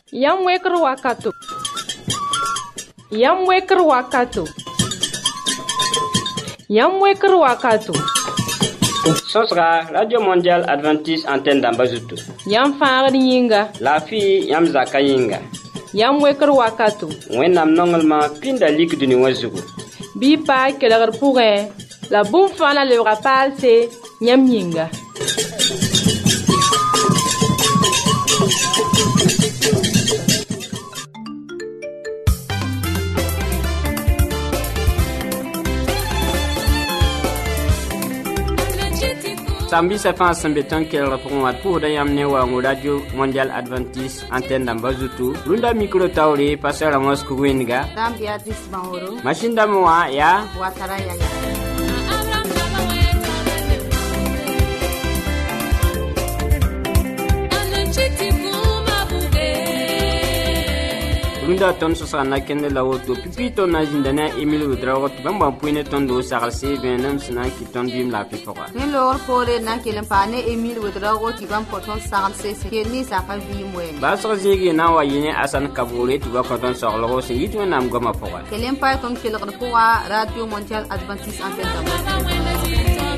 Yam wekr wakato. Yam wekr wakato. Yam wekr wakato. Sosra Radio Mondial Adventiste Antenne d'Ambazutu. Yam faagd yĩnga. La fi yam zaka yĩnga. Yam wekr wakato. Wẽnnaam nonglema pinda lik dũni wã zugu. Bɩ paa kelgr pʋgẽ la bũmb fãa la lebga paalse yãmb yĩnga. Sambisa fãa sẽn be tõnd kelgr pʋgẽ wã pʋsda yãmb ne wa Radio Mondial Adventiste Antenne d'Ambazutu. Rũndã mikro taoore pastor Amos Kugwẽndga. Machine dãmbẽ wã yaa Watara Yaya. Rũndã tõnd sõsga na kẽnd la woto pipi tõnd na zĩnda ne a Emile Wodraogo tɩ bãmb pʋɩ tõnd do sagl vẽenem sẽn na n kɩt tõnd bɩɩm la a pɩ-pʋga. Ne loor poore na n kell n paa ne Emile Wodraogo tɩ bãmb kõ tõnd sagl sẽn kell ne zaka vɩɩm wɛɛngẽ. Baasg zĩig na n wa yɩ ne Asan Kaboore tɩ ba kõ tõnd soglgo sẽn yit Wẽnnaam goamã pʋga. Kell n pa tõnd kelgd pʋga Radio Mondial Adventiste Antenne d'Ambazutu.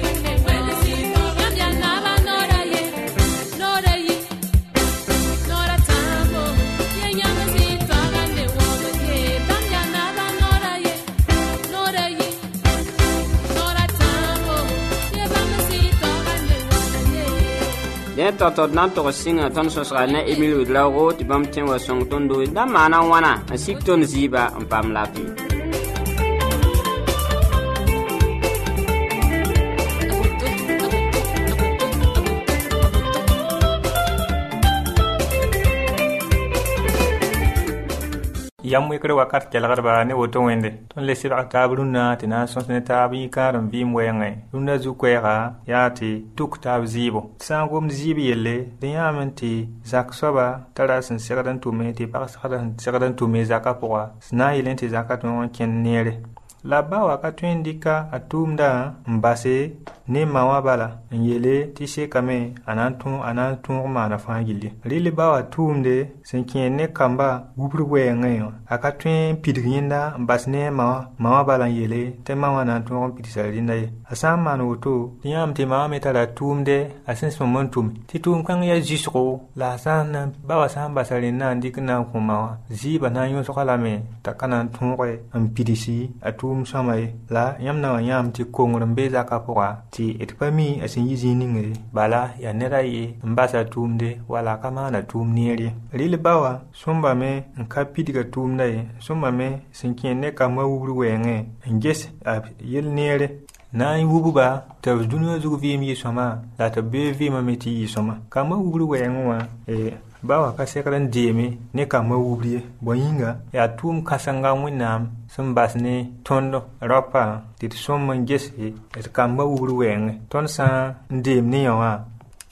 Dẽ tɔtɔd na n tog sɩngã tõnd sõsga ne Emile Wodraogo tɩ bãmb tẽ wa sõng tõndo da maana wãna n sik tõnd zɩɩba n paam laafɩ. Yam wekr wakat kelgdba ne woto wẽnde tõnd le sɩbg taab rũnnã tɩ na n sõs ne taab yĩkaar n vɩɩm wɛɛngẽ rũnnã zu-koɛɛga yaa tɩ tuk taab zɩɩbo sã n gom zɩɩb yelle dẽ yãam n tɩ zak soaba tara sẽn segd n tʋme tɩ pagsgd sẽn segd n tʋme zakã pʋga sẽn na n yɩl n tɩ zakã tõog n kẽnd neere la ba wa ka tõe n dɩka a tʋʋmdã n base ne ma wã bala n yele tɩ sekame a na n tõog maana fãa gilli rɩl ba wa tʋʋmde sẽn kẽer ne kamba wubr wɛɛngẽ wã a ka tõe n pidg yẽnda n bas ne ma wã bala n yele tɩ ma wã na n tõog n pidsa rẽnda ye a sã n maan woto tɩ yãmb tɩ ma wã me tara tʋʋmde a sẽn sõm n tʋme tɩ tʋʋm-kãng yaa zɩsgo la ba wa sã n basa rẽnnã n dɩk n na n kõ ma wã zɩɩba na n yõsga lame t'a ka na n tõoge n pidsi a tʋʋm sõma ye la yãmb na wa yãmb tɩ kongr n be zakã pʋga tɩ d pa mi a sẽn yi zĩig ningre bala yaa ned a ye n basa tʋʋmde wala ka maana tʋʋm neer ye rɩl ba wa sõmbame n ka pidga tʋʋmda ye sõmbame sẽn kẽer ne kambã wubr wɛɛngẽ n ges a yel neere na n wubba tɩ b dũniyã zug vɩɩm yɩ-sõma la tɩ b bee vɩɩmã me tɩ yɩ-sõma kambã wubr wɛɛngẽ wã ba wa ka segd n deeme ne kambã wubr ye bõe yĩnga yaa tʋʋm kãsenga Wẽnnaam sẽn bas ne tõnd raopã tɩ d sõm n gese d kambã wubr wɛɛngẽ tõnd sã n deem ne yã wã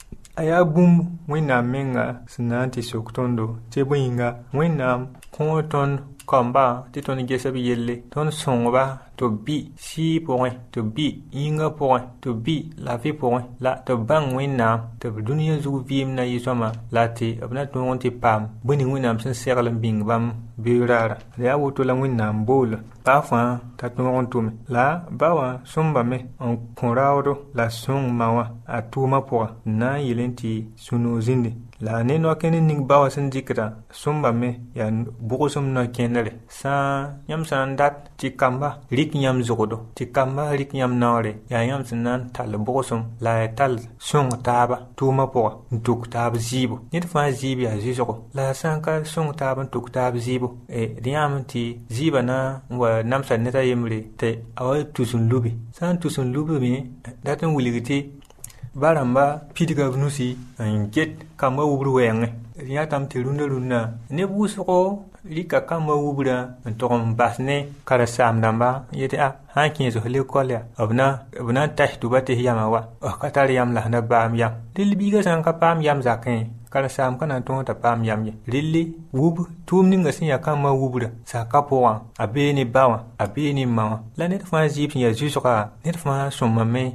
a yaa bũmb Wẽnnaam menga sẽn na n tɩ sok tõndo tɩ bõe yĩnga Wẽnnaam kõ tõnd kamba tɩ tõnd gesb yelle tõnd sõngba tɩ b bɩ sɩɩ pʋgẽ tɩ b bɩ yĩngã pʋgẽ tɩ b bɩ laafɩ pʋgẽ la tɩ b bãng Wẽnnaam tɩ b dũniyã zug vɩɩmdã yɩ-sõma la tɩ b na tõog n tɩ paam bõe ning Wẽnnaam sẽn segl n bĩng bãmb beoograara la yaa woto la Wẽnnaam bool baa fãa t'a tõog n tʋme la ba wã sõmbame n kõ raoodo la sõng ma wã a tʋʋmã pʋga n na n yɩl n tɩ sũ-noog zĩnde la ne no-kẽnd ning ba wã sẽn dɩkda sõmbame yaa bʋgsem no-kẽndre yãmb sã n dat tɩ kamba rɩk yãmb zogdo tɩ kamba rɩk yãmb naoore yaa yãmb sẽn na n tall bʋgsem la yaa tall sõng taaba tʋʋmã pʋga n tʋk taab zɩɩbo ned fãa zɩɩb yaa zɩsgo la sã n ka sõng taab n tʋk taab zɩɩbo d yãmb tɩ zɩɩba na n wa namsa ned a yembre tɩ a wa tus n lubi sã n tus n lubme dat n wilg tɩ ba rãmba pidga b nusi n get kambã wubr wɛɛngẽ d yãtame tɩ rũndã neb wʋsgo rɩka kambã wubrã n tog n bas ne karen-saam dãmba n yetɩ sã n kẽes f lekɔl yaa b na n tas tʋba tɩ yama wa ka tar yam la sẽn da baam yam dɩl biigã sã n ka paam yam zakẽ karsam kana ton ta pam yamye lilli wub tum ninga sin ya kama wubra sa kapoa abeni bawa abeni mawa la net fa jip ya jusra net fa somame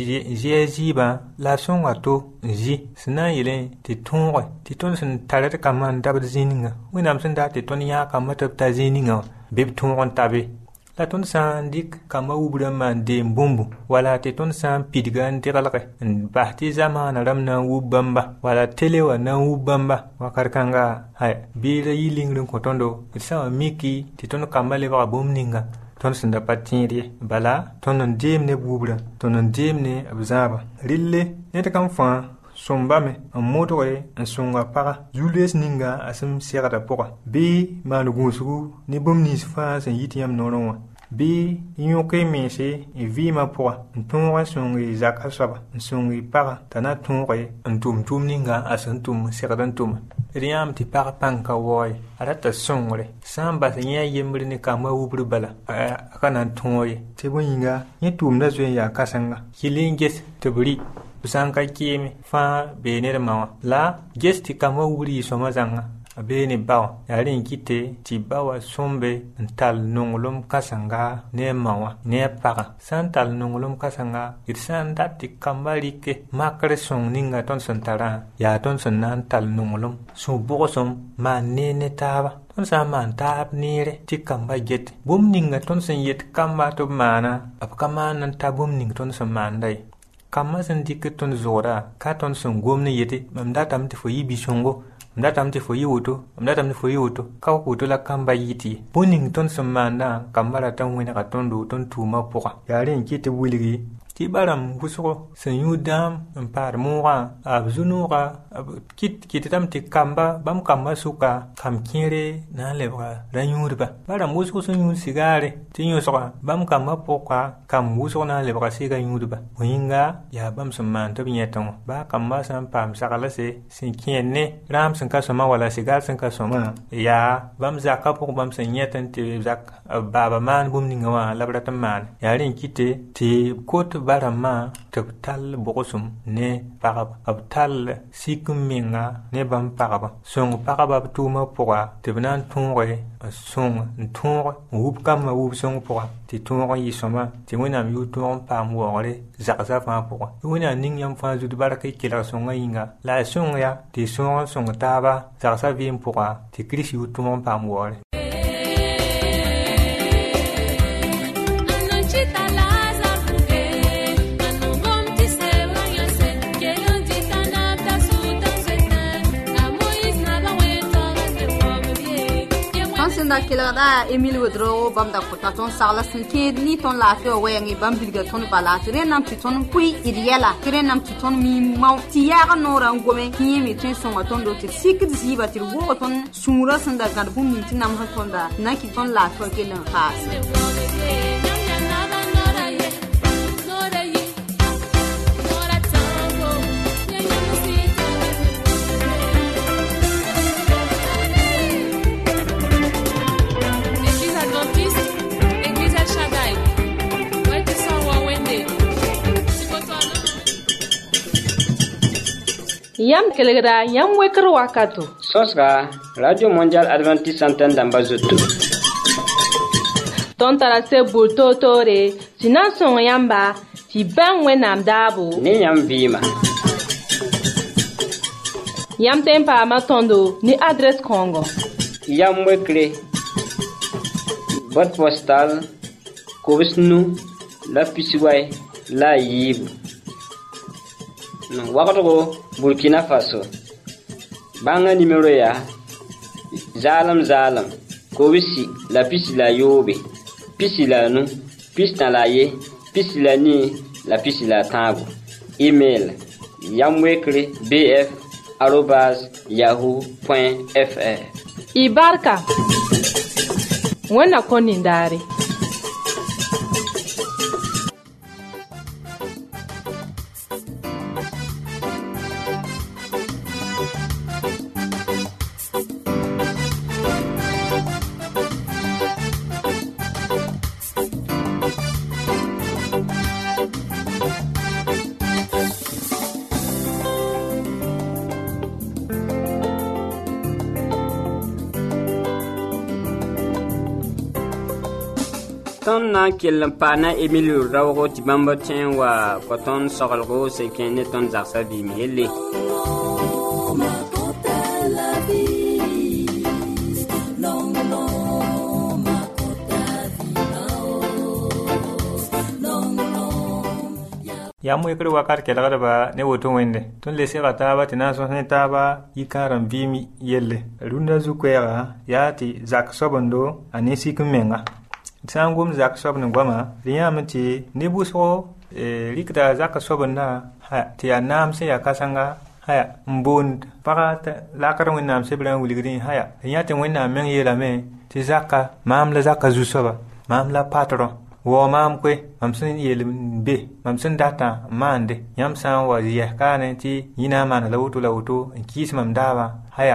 ji ba la son ato ji sina yele ti ton sin taret kaman dab zininga winam sin da ti ton ya kamata ta zininga bib ton tabe la ton san dik kama wubra man de mbumbu wala te ton san pidgan tiralque bahti zamana ramna wubamba wala telewa na wubamba wakarkanga hay bila yilingrin ko tondo sa miki ti ton kama le ba bomninga ton senda patiri bala ton ndem ne wubra ton ndem ne abzaba rille ne ta kam fa sombame en motoe en songa para Julius ninga asem serada poka bi manugusu ni bomni fa sen yitiam nono bi yoke mese e vima poka ntonga songi zaka saba songi para tana tonre ntum ninga asantum seradan tum riam ti para panka woy arata songre samba senya yembre ni kama wubru bala kana tonye tebonga yetum na zwe ya kasanga hilinges tebri Busanka kimi fa bene mawa la gesti kama wuri soma zanga bene bawa yarin kite ti bawa sombe ntal nongolom kasanga ne mawa ne para santal nongolom kasanga irsan dati kambarike makre song ninga ton santara ya ton sanan tal nongolom so bosom ma ne taba ton sa man tab nire ti kamba get bum ninga ton sen yet kamba to mana ap kama nan tabum ning ton sa mandai kama san dik ton zora ka ton son gomne yete mamda tam te foyi bishongo mamda tam te foyi woto mamda tam te foyi woto ka woto la kamba yiti boning ton son manda kambara tan wena ka ton do ton tuma poka yare nkite wuligi ti baram busoko san yudam par moa abzunura kit tam te kamba bam kamba suka kam kire na lebra ranyurba baram busoko san yun sigare ti yosoka bam kamba poka kam busoko na lebra siga yurba winga ya bam samman to binyeton ba kamba san pam sakala se sin kienne ram san kasoma wala sigar san kasoma ya bam zakka pok bam san yetan te zak baba man bum ninga wa labra tamman yarin kite ti kot barama tabtal bogosum ne parab abtal sikum minga ne bam paraba song paraba tuma poa tebnan tonre song tonre wub kam wub song poa ti tonre yisoma ti wona yu ton pam wore zakza fa poa wona ning yam fa zu baraka kila songa inga la song ya ti song taba zakza vim poa ti krisi yu ton pam wore da kila da Emile Wedro bam da kota ton sala sinke ni ton la fe wengi bam bilga ton bala tire nam ti ton pui iriela tire nam ti ton mi mau ti ya ga no ran gome ki mi tin so ton do ti sikit ziba ti wo ton sura sanda gar bum mi tin nam ha ton da na ki ton la fe ke lan khas Yam kelegra yam wekro wakato. Sosra Radio Mondial Adventiste Antenne d'Ambazoto. Ton tarase bulto tore, sinan son yamba, ti ben wenam dabo. Ni yam vima. Yam tempa matondo ni adresse Congo. Yam wekre. Boîte postale Kobisnu la Pisiway la Yibu. Wakato Burkina Faso. Banga numéro ya Zalam Kobisi la pisi la yobe. Pisi la nu, pisi na la ye, pisi la ni, la pisi la tango. Email yamwekre bf@yahoo.fr. Ibarka. Wena konindari. tõnd na n kell n paana Emile raoogo tɩ bãmb tẽ n wa kõ tõnd soglgo sẽn kẽ ne tõnd zagsã vɩɩm yelle. ya mu yekre wakat kelgd ba ne woto wẽnde tõnd le sega taaba tɩ na n sõs ne taaba yikãar n vɩɩm yelle rũndã zu-koɛɛga yaa tɩ zak soabendo a ne sik n menga sã n gom zak soab ne goama d yãame tɩ ne bʋsgo rɩkda zak soabendã tɩ yaa naam sẽn yaa kãsenga n boond pagã lakd wẽnnaam sebrã n wilgdẽ d yã tɩ wẽnnaam meng yeelame tɩ zaka maam la zaka zu-soaba maam la patron wo maam koe mam sẽn yeel n be mam sẽn datã n maande yãmb sã n wa yɛs kaane tɩ yĩna n maana la woto n kɩɩs mam daabã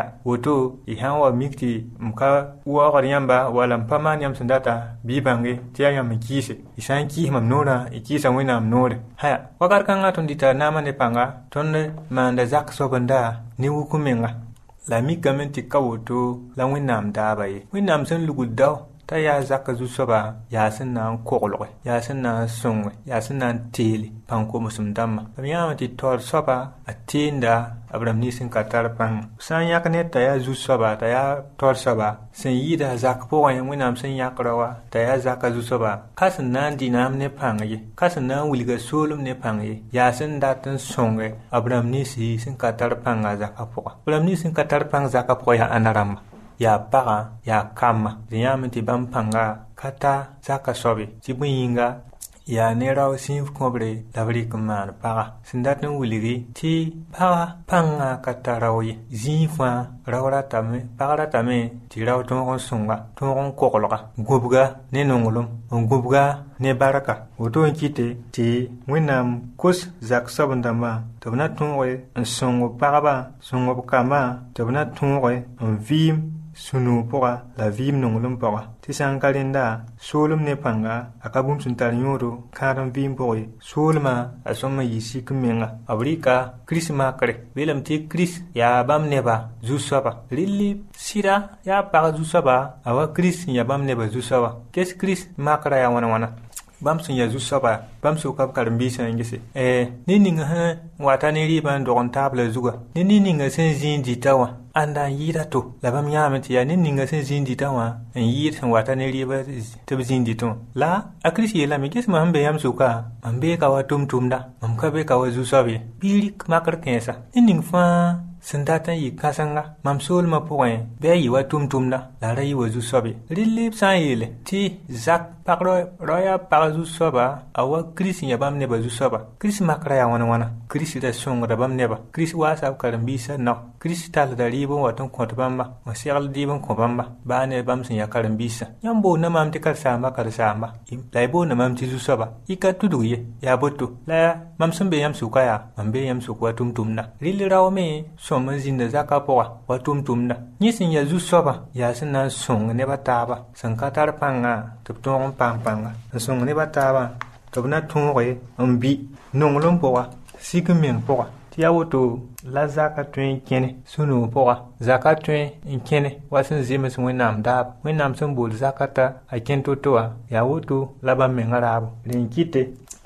woto y sã n wa mik tɩ m ka waoogd yãmba wala m pa maan yãmb sẽn data bɩ y bãnge tɩ yaa yãmb n kɩɩse y sã n kɩɩs mam noorã y kɩɩsa wẽnnaam noore wakat kãngã tõnd dɩta naamã ne pãnga tõnd maanda zak soabenda ne wuk menga la mikame tɩ ka woto la wẽnnaam daaba ye wẽnnaam sẽn lugd dao t'a yaa zaka zu-soaba yaa sẽn na n koglge yaa sẽn na n sõnge yaa sẽn na n teele pãn-komsem dãmbã b yãame tɩ taoor soaba a teenda b rãmb nins sẽn ka tar pãnga sã n yãk ned t'a yaa zu-soaba t'a yaa taoor soaba sẽn yɩɩda zak pʋgẽ wẽnnaam sẽn yãk raoa t'a yaa zaka zu-soaba ka sẽn na n dɩ naam ne pãng ye ka sẽn na n wilga soolem ne pãng ye yaa sẽn dat n sõnge b rãmb ninsi sẽn ka tar pãnga zaka pʋga b rãmb nins sẽn ka tar pãng zaka pʋgã yaa ãnda rãmba yaa pagã yaa kamba d yãame tɩ bãmb pãnga ka ta zaka soabe tɩ bõe yĩnga yaa ne rao sĩif kõbre la b rɩk n maan pagã sẽn dat n wilge tɩ pagã pãngã ka ta rao ye zĩig fãa rao ratame pag ratame tɩ rao tõog n sõnga tõog n koglga gũbga ne nonglem n gũbga ne barka woto n kɩte tɩ wẽnnaam kos zak soabendãmbã tɩ b na tõoge n sõng b pagba sõng b kambã tɩ b na tõoge n vɩɩm sũ-nuug pʋga la vɩɩm nonglem pʋga tɩ sã n ka rẽnda soolem ne pãnga a ka bũmb sẽn tar yõodo kãadem vɩɩm pʋgẽ soolmã a sõma yɩ sik n menga b rɩka kirist makre beelame tɩ kirist yaa bãmb neba zu-soaba rɩlɩ sɩda yaa pag zu-soaba a wa kirist sẽn yaa bãmb neba zu-soaba ges kirist makrã yaa wãna-wãna bãmb sẽn yaa zu-soaba bãmb soka b karen-biisã n gese ne ninga sẽn wata ne rɩɩbã n dog n taab la zugã ne ninga sẽn zĩig dɩta wã ãnda n yɩɩda to la bãmb yãame tɩ yaa ne ninga sẽn zĩig dɩta wã n yɩɩd sẽn wata ne rɩɩbã tɩ b zĩig dɩtẽ wã la a kirist yeelame ges mam sẽn be yãmb soka mam beeka wa tʋm-tʋmda mam ka beeka wa zu-soab ye bɩ rɩk makr kẽesa ne ning fãa sẽn dat n yɩ kãsenga mam soolmã pʋgẽ bɩ a yɩ wa tʋm-tʋmda la a ra yɩ wa zu-soab ye rɩl b sã n yeele tɩ zak pag rao yaa pag zu-soaba a wa kirist n yaa bãmb nebã zu-soaba kirist makrã yaa wãna-wãna kirist da sõngda bãmb nebã kirist waasa b karen-biisã nao kirist tallda rɩɩb n wat n kõt bãmba n segl dɩɩb n kõ bãmba baa ne bãmb sẽn yaa karen-biisã yãmb boonna mam tɩ karsaamba la y boonna mam tɩ zu-soaba y ka tudg ye yaa boto la mam sẽn be yãmb sʋka yaa mam bee yãmb sʋk wa tʋm-tʋmda rɩl rao me sõm n zĩnda zakã pʋga wa tʋm-tʋmda yẽ sẽn yaa zu-soaba yaa sẽn na n sõng nebã taaba sẽn ka tar pãngã tɩ b tõog n paam pãnga n sõng nebã taabã tɩ b na tõoge n bɩ nonglem pʋga sik n meng pʋga tɩ yaa woto la zaka tõe n kẽne sũ-nuug pʋga zaka tõe n kẽne wa sẽn zems wẽnnaam daab wẽnnaam sẽn bool zakata a kẽn to-to wã yaa woto la bãmb mengã raabo rẽn kɩte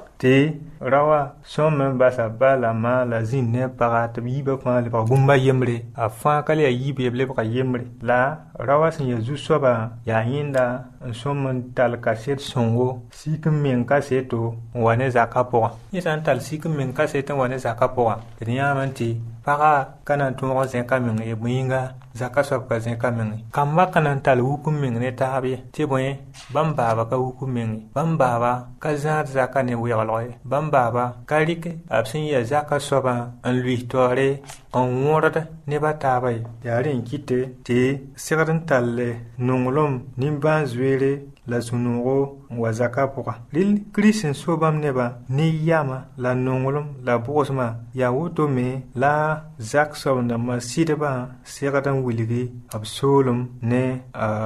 tɩ raoa sõm n basa ba la maa la zĩnd ne paga tɩ b yiibã fãa lebg bũmba yembre a fãa ka le yaa yiib ye b lebga yembre la raoa sẽn yaa zu-soaba yaa yẽnda n sõm n tall kaset sõngo sik n meng kaseto n wa ne zakã pʋgã yẽ sã n tall sik n meng kaset n wa ne zakã pʋgã d yãame tɩ paga ka na n tõog n zẽka meng ye bõe yĩnga zakã soab ka zẽka meng ye kamba ka na n tall wuk n meng ne taab ye tɩ bõe bãmb baaba ka wuk n meng ye bãmb baaba ka zãad zakã ne weglg ye bãmb baaba ka rɩk b sẽn yaa zakã soabã n luis taoore n wõrd nebã taaba ye yaa rẽ n kɩte tɩ segd n tall nonglem nimbãan-zoeere la sũ-nuugo n wa zakã pʋga rɩl kirist n so bãmb nebã ne yama la nonglem la bʋgsmã yaa woto me la zak soabendãmbã sɩdbã segd n wilgi b soolem ne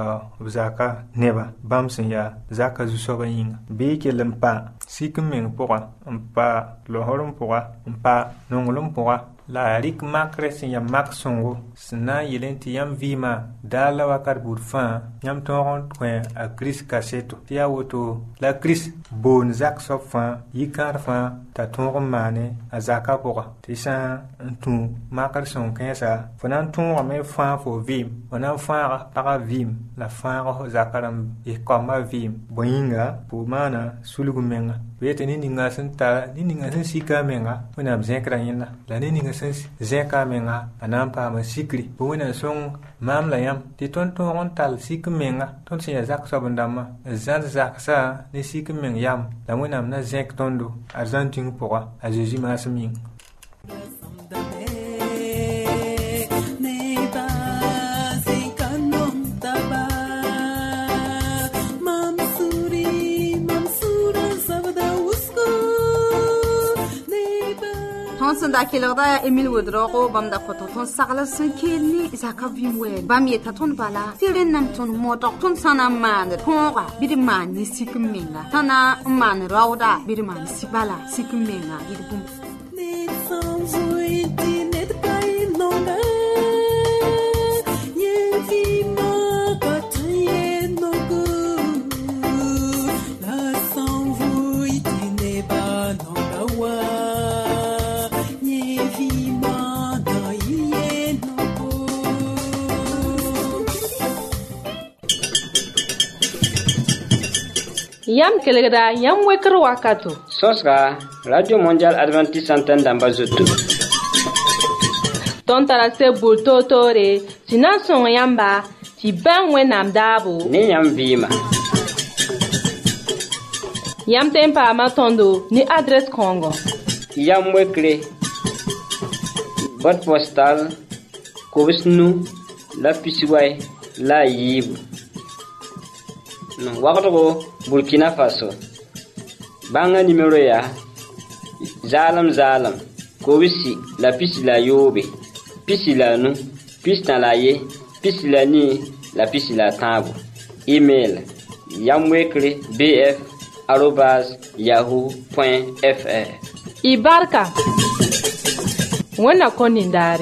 b zakã nebã bãmb sẽn yaa zakã zu-soabã yĩnga bɩ y kell n pa sik n meng pʋga n pa losrem pʋga n pa nonglem pʋga la rik makre sin ya mak songo sna yelen ti yam vima dala wakar burfan yam toron kwen a Chris kaseto ti ya woto la Chris bon zak sofan yikar fa ta toron mane a zaka poka ti sa ntu makar son kensa fanan toron me fa fo vim fanan fa para vim la fa zakaram e koma vim boyinga po mana sulugu menga wete ni ninga senta ni ninga sen sika menga wana mzekra yina la ni ninga sen zeka menga anampa ma sikri bo wana song mam la yam ti ton on tal sik menga ton se zak sabandama zan zak sa ni sik meng yam la wana na zek tondo argentin poa a jeji masming Sanda kelada Emil Woodrow bam da koton sagala sankeni zaka vimwe bam yeta ton bala tiren nam ton motok ton sana man tonga bidman ni sikmenga tana man rawda bidman sibala sikmenga idum Yam kelegda yam weker wakato. Sosra Radio Mondial Adventiste Antenne d'Ambazoto. Ton tarase bulto tore, sinan son yamba, ti ban wenam dabo. Ni yam vima. Yam tempa matondo ni adresse Congo. Yam wekre. Boîte postale Kobisnu la Pisiway la Yib. Wakato Burkina Faso. Banga numéro ya Zalam Kobisi la pisi la Yobe. Pisi la nu, pisi na la ye, pisi la ni, la pisi la tambo. Email yamwekre@yahoo.fr. Ibarka. Wana konindari.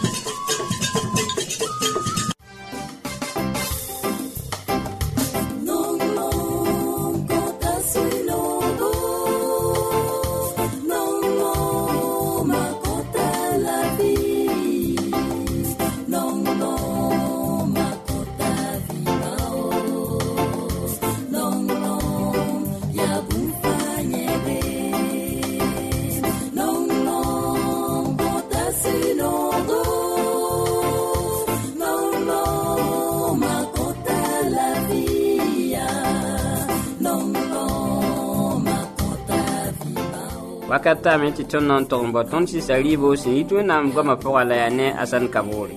Wakata meti ton non tombo ton si salibo si itu nam goma poa la yane asan kaburi.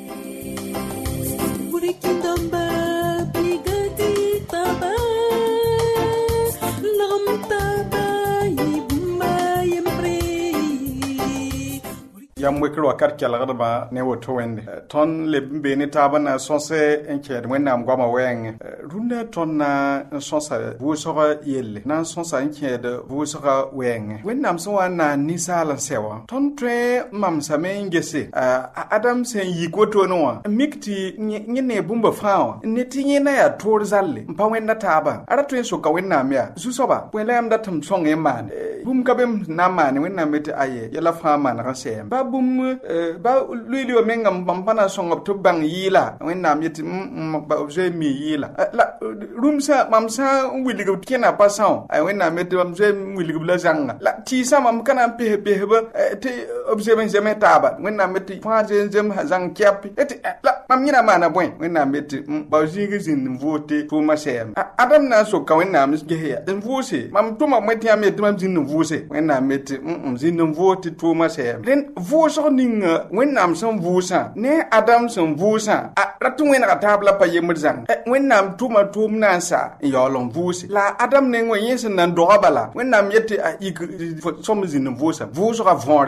Yam wekro akar kyalgarba ne woto wende ton le beni tabana sonse enked wenam gwama weng runda ton na sonsa vusoga yelle na sonsa enked vusoga weng wenam so wana nisala sewa ton tre mamsa mengese adam sen yikoto no mikti nyine bumba fawa neti na ya tor zalle mpa wenda taba ara tren so ka wenam ya susoba wela am datum song eman bum kabem namane wenam beti aye yala fama na kasem bum ba luili o mengam bampana songop to bang yila wennam yeti ba obje mi yila la rumsa mamsa wiligo kena pasan ay wennam yeti obje wiligo la zanga la ti sama mam kana pe ba te obje ben jeme taba wennam yeti faje jem zang kyapi eti la mam nyina mana boy wennam yeti ba jigi zin vote to ma sem adam na so ka wennam ge ya den vose mam to ma meti am yeti mam zin vose wennam yeti zin vote to ma sem den so ninga wennam son vusa ne adam son vusa ratu wena tabla pa yemrzang wennam tuma tumnansa yolon vusi la adam ne ngwe yesen nan do bala wennam yete ik som zin vusa vusa ka von ya bon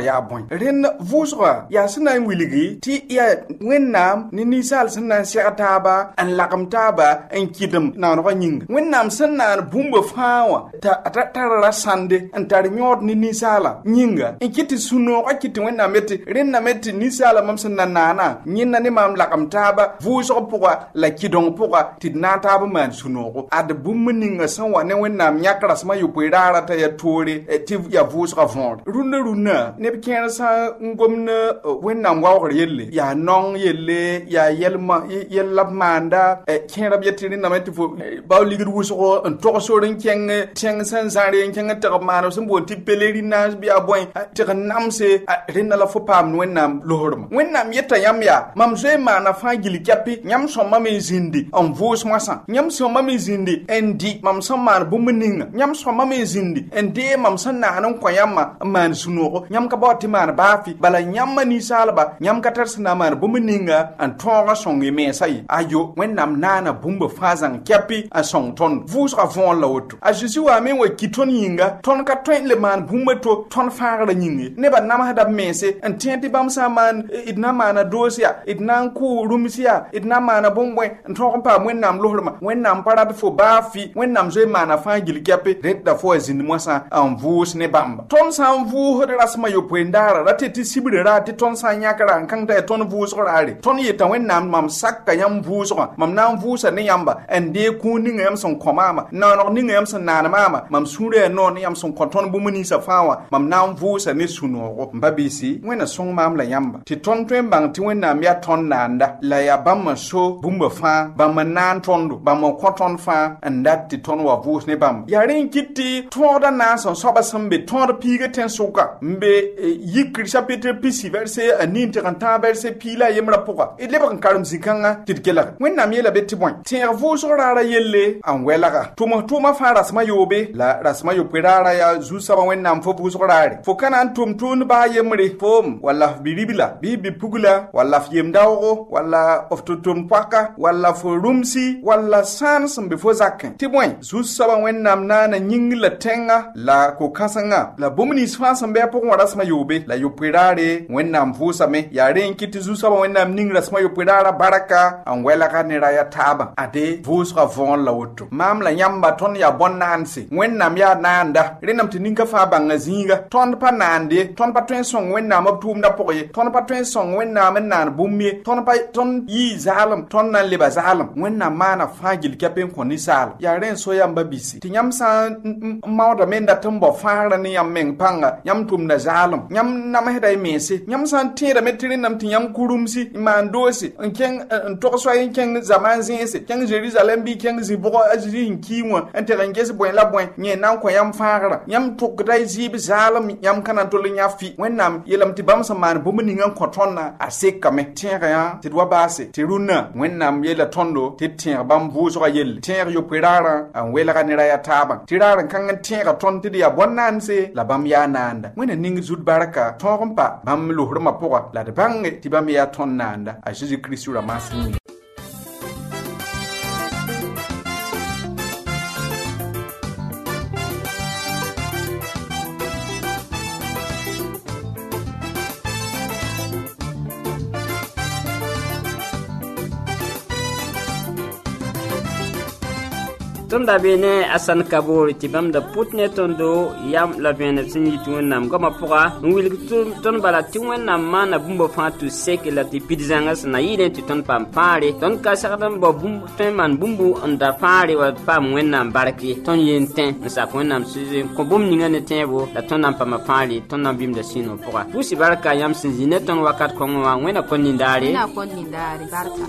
ren vusga ya sina wiligi ti ya wennam ni nisal sina shaqataba an laqamtaba en kidum na no nying wennam sina bumba fawa ta rasande an tar nyot ni nisala nyinga en kiti suno ka kiti wennam meti ren na meti nisala mam sina nana nyinna ni mam laqamtaba vusga puga la kidong puga tidna taba man suno ko ad bumninga sanwa ne wennam nyakra sama yupirara ta ya tore ti ya vusga von runa ne bikena sa ngomna wennam wawr yelle ya nong yelle ya yelma manda kera bietiri na meti fo bawligir wuso en to so ren keng san sare keng ta mano so bon ti pelerina biya boy ti namse ren la fo pam wennam lohorma wennam yetta yamya mam zoe mana fa gili kapi nyam so mame zindi on vos masa nyam so mame zindi endi mam so man bumuninga nyam so mame zindi ende mam san na nan kwayama man sunoko nyam ka boti man bafi bala nyam mani salba nyam ka tarsna man bumuninga an tonga songi me sai ayo wennam nana bumba fazan kapi a song ton vos ka von la woto a jesu wa me wa kiton yinga ton ka twen le man bumba to ton faara nyingi ne ba nam hada mese an tienti bam sa man idna mana dosia idna ku rumsia idna mana bombwe nton pa wennam lohorma wennam parad fo bafi wennam zoe mana fa gil kapi redda fo zin mosa an vos ne bamba ton san vu hore rasma yo pendara rateti sibre rati ton san yakara kan ta ton vus orare ton yeta wennam mam sakka yam vus mam nam vusa ne yamba ende ku ninga yam son komama na no ninga yam son nana mama mam sure no ne yam son konton bumuni sa fawa mam nam vusa ne suno mbabisi wena song mam la yamba ti ton twen bang ti wennam ya ton nanda la ya bam so bumba fa bam nan tondo bam koton fa andat ti ton wa vus ne bam ya ren kitti toda na so soba sambe toda piga ten suka mbe yikri chapitre pisi verset anin te kanta verset pila yemra poka ile ban karam zikanga titkela wennam yela beti boy ter vus rara yelle an welaga tuma fa rasma yobe la rasma yopirara ya zusaba wennam fo vus rara fo kana tun ba yemre fom wala biribila bibi pugula wala yemdawo wala oftutum paka wala fo rumsi wala sans mbe fo zakin ti boy zusaba wennam nana nyingla tenga la ko kasanga la bomni sfansa mbe poko rasma yobe la yopirare wennam fusame ya ren kiti zusaba wennam ning rasma yopirara baraka an wela ka ne raya taba ade vusra von la woto mam la nyamba ton ya bonnansi wennam ya nanda renam tininka fa banga zinga ton pa nande ton pa twen song wennam abtum da poye ton pa twen song wennam nan bummi ton pa ton yi zalam ton nan leba zalam wennam mana fagil kapen koni sal ya ren so yamba bisi ti nyam sa mawda menda tumbo fara ni yam meng panga nyam tum da zalam nyam nam heda mesi nyam san tira metrin nam ti nyam kurumsi man dosi ken to so yin ken zaman zinse ken Jerusalem bi ken zibo azri nkiwa enterengesi boy la boy nye nan ko yam fara yam tukdai zib zalam yam kanan to nyafi wennam yelam ti bam saman bumni ngan kotonna aseka me tira ya ti dwa base ti runa wennam yela tondo ti tira bam vuso ga yel tira yo pirara an wela ga nira ya taba tirara kan tira ton ti ya bonnanse la bam ya nanda wena ning zud baraka torompa bam lo hurma poka la de bange ti bam ya ton nanda a Jesus Christ ra masini Tonda bene asan kabori tibam da putne tondo yam la bene sinyi tuwenam goma poka nwil ton bala tuwenam mana bumbo fatu seke la ti pidzangas na yine ti ton pam pare ton ka sakadam bo bum ten man bumbu onda pare wa pam wenam barki ton yenten sa wenam suze ko bum ninga ne tebo la ton nam pam pare ton nam bim da sino poka pusi barka yam sinjine ton wakat ko ngwa wena konindare barka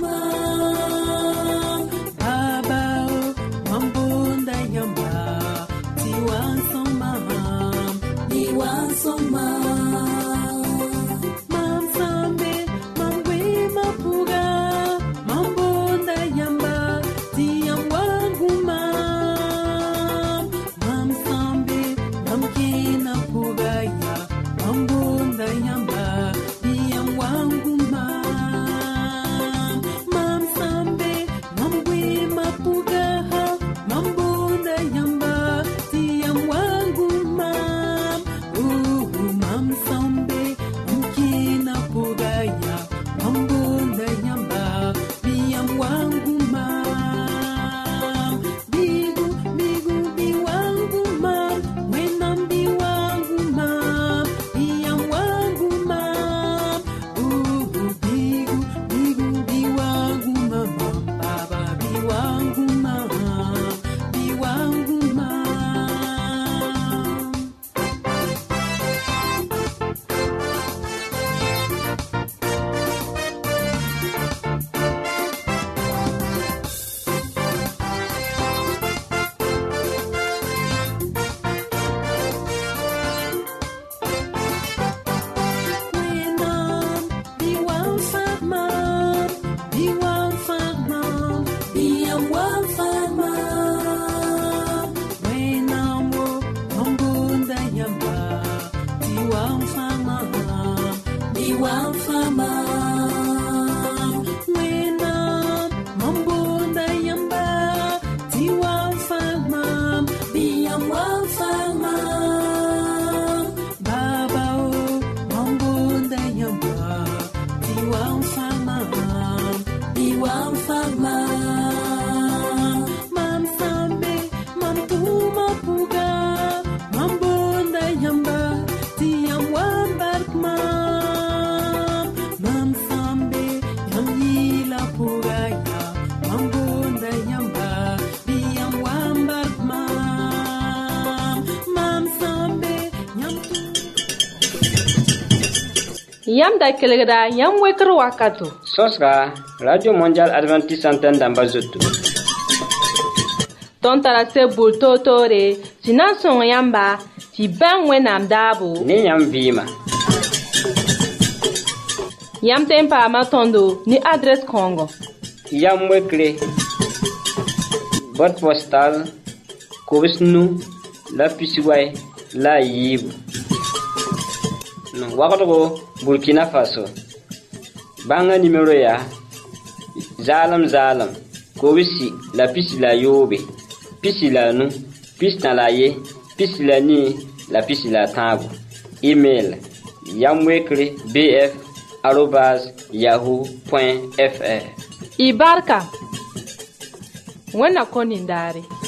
yam da kelgda yam wekr wakato Sosra Radio Mondial Adventiste Antenne d'Ambazoto. Ton tara se bulto tore sinan son yamba ti ban wenam dabo Ni yam vima. yam tempa ma tondo ni adresse kongo Yam wekre. Boîte postale. Kobisnu. La Pisiway. La Yib. Ouagadougou, Burkina Faso. Banga numéro ya. Zalam. Kobisi. La Pisi la Yobe. Pisi la nu. Pisi na la ye. Pisi la ni. La Pisi la tabu. Email. Yamwekre bf@yahoo.fr. Ibarka wena konindare